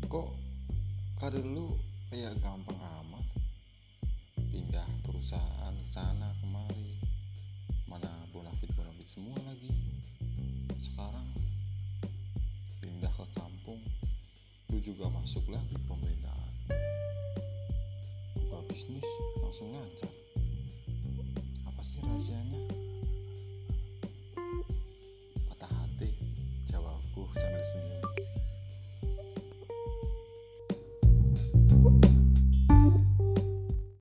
Kok karir lu kayak gampang amat? Pindah perusahaan sana kemari, mana bonafit semua lagi. Sekarang pindah ke kampung, lu juga masuk lagi pemerintahan. Buka bisnis langsung lancar. Apa sih rahasianya?